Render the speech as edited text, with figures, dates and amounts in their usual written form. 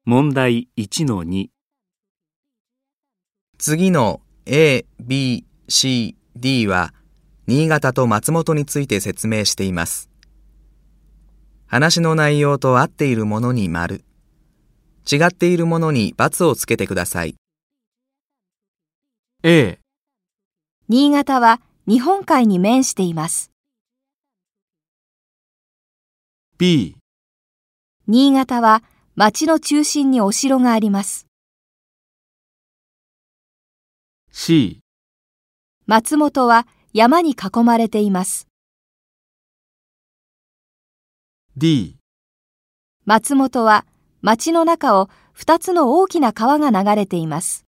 問題 1-2。 次の A、B、C、D は新潟と松本について説明しています。話の内容と合っているものに丸、違っているものに×をつけてください。 A、 新潟は日本海に面しています。 B、 新潟は町の中心にお城があります。 C、 松本は山に囲まれています。 D、 松本は町の中を2つの大きな川が流れています。